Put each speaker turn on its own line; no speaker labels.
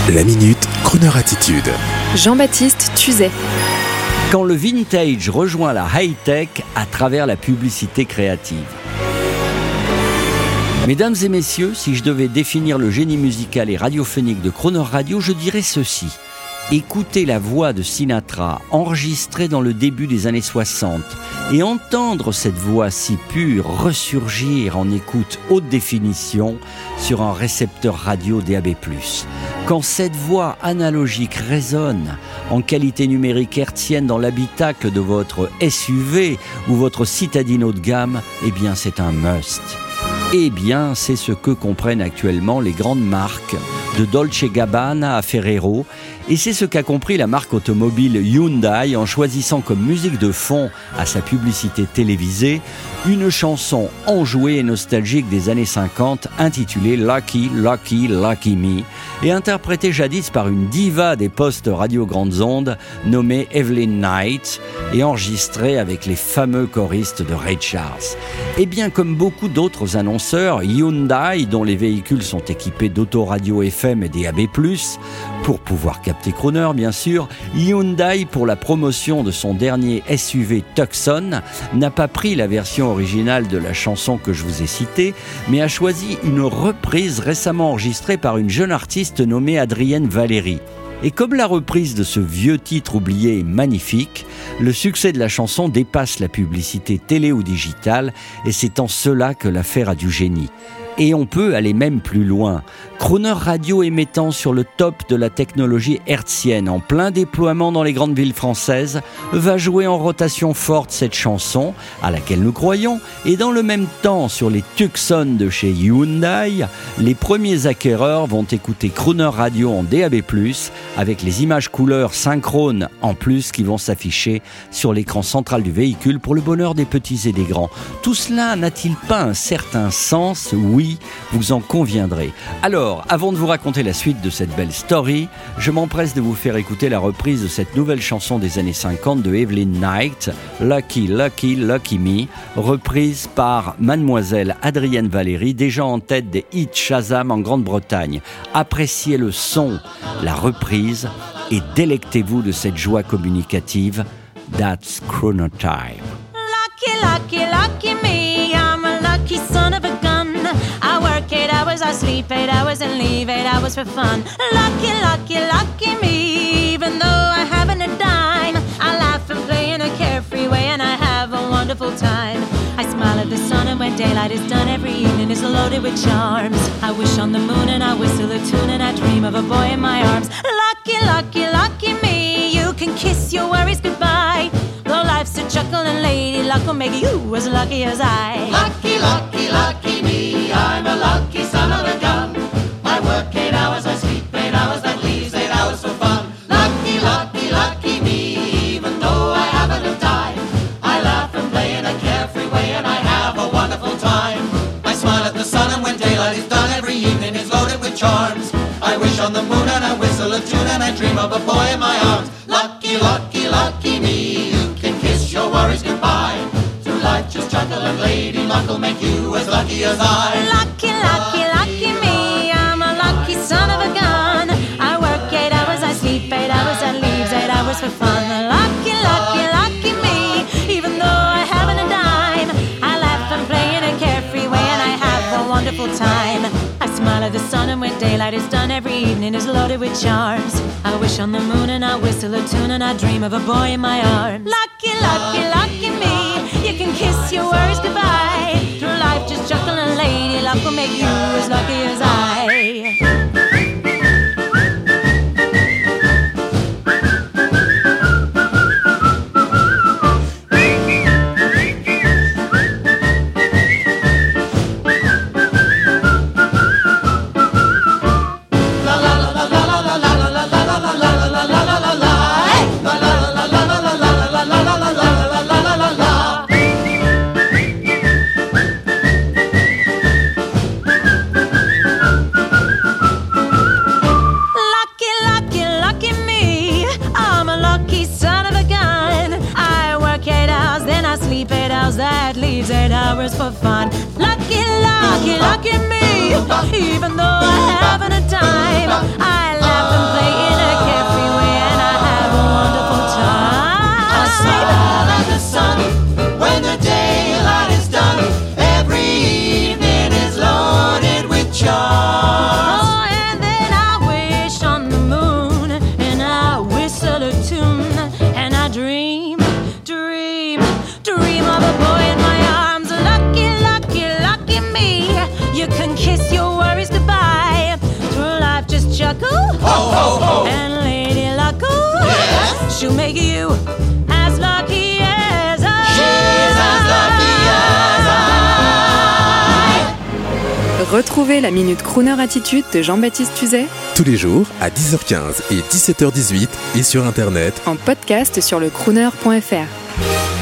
La Minute, Crooner Attitude.
Jean-Baptiste Tuzet.
Quand le vintage rejoint la high-tech à travers la publicité créative. Mesdames et messieurs, si je devais définir le génie musical et radiophonique de Crooner Radio, je dirais ceci. Écouter la voix de Sinatra enregistrée dans le début des années 60 et entendre cette voix si pure ressurgir en écoute haute définition sur un récepteur radio DAB+. Quand cette voix analogique résonne en qualité numérique hertzienne dans l'habitacle de votre SUV ou votre citadine haut de gamme, eh bien c'est un must. Eh bien, c'est ce que comprennent actuellement les grandes marques, de Dolce & Gabbana à Ferrero, et c'est ce qu'a compris la marque automobile Hyundai en choisissant comme musique de fond à sa publicité télévisée une chanson enjouée et nostalgique des années 50 intitulée Lucky, Lucky, Lucky Me et interprétée jadis par une diva des postes radio grandes ondes nommée Evelyn Knight et enregistrée avec les fameux choristes de Ray Charles. Et bien comme beaucoup d'autres annonceurs, Hyundai, dont les véhicules sont équipés d'autoradio FM et DAB+, pour pouvoir capter Crooner bien sûr, Hyundai pour la promotion de son dernier SUV Tucson n'a pas pris la version originale de la chanson que je vous ai citée, mais a choisi une reprise récemment enregistrée par une jeune artiste nommée Adrienne Valéry. Et comme la reprise de ce vieux titre oublié est magnifique, le succès de la chanson dépasse la publicité télé ou digitale et c'est en cela que l'affaire a du génie. Et on peut aller même plus loin. Crooner Radio émettant sur le top de la technologie hertzienne en plein déploiement dans les grandes villes françaises va jouer en rotation forte cette chanson à laquelle nous croyons et dans le même temps sur les Tucson de chez Hyundai, les premiers acquéreurs vont écouter Crooner Radio en DAB+, avec les images couleurs synchrones en plus qui vont s'afficher sur l'écran central du véhicule pour le bonheur des petits et des grands. Tout cela n'a-t-il pas un certain sens ? Oui, vous en conviendrez. Alors, avant de vous raconter la suite de cette belle story, je m'empresse de vous faire écouter la reprise de cette nouvelle chanson des années 50 de Evelyn Knight, Lucky, Lucky, Lucky Me, reprise par mademoiselle Adrienne Valéry, déjà en tête des hits Shazam en Grande-Bretagne. Appréciez le son, la reprise et délectez-vous de cette joie communicative. That's Crooner Time.
Lucky, lucky, lucky me, I'm a lucky son of a gun. I work 8 hours, I sleep 8 hours and leave 8 hours for fun. Lucky, lucky, lucky me, even though I haven't a dime, I laugh and play in a carefree way and I have a wonderful time. I smile at the sun and when daylight is done, every evening is loaded with charms. I wish on the moon and I whistle a tune and I dream of a boy in my arms. Lucky, lucky, lucky me, you can kiss your worries goodbye. Though life's a chuckle and lady luck will make you as lucky as I.
Lucky, lucky, lucky me, I'm a lucky son of a gun. I work 8 hours, I sleep 8 hours, that leaves 8 hours for fun. Lucky, lucky, lucky me, even though I haven't a dime, I laugh and play in a carefree way and I have a wonderful time. I smile at the sun and when daylight is done, every evening is loaded with charms. I wish on the moon and I whistle a tune and I dream of a boy in my arms. Lucky, lucky, lucky me, you can kiss your worries goodbye. Through life just chuckle and lady luck will make you as lucky as I.
Lucky, lucky, lucky me, I'm a lucky son of a gun. I work 8 hours, I sleep 8 hours, that leaves 8 hours for fun. Lucky, lucky, lucky me, even though I haven't a dime, I laugh and play in a carefree way and I have a wonderful time. I smile at the sun and when daylight is done, every evening is loaded with charms. I wish on the moon and I whistle a tune and I dream of a boy in my arms. Lucky, lucky, lucky me, you can kiss your worries goodbye. Through life just chuckle and lady luck will make you as lucky as I. That leaves 8 hours for fun. Lucky, lucky, lucky me. Even though I haven't a dime, I laugh she'll make you as lucky as I.
She's as lucky as I.
Retrouvez la Minute Crooner Attitude de Jean-Baptiste Tuzet
Tous les jours à 10h15 et 17h18 et sur Internet.
en podcast sur le crooner.fr.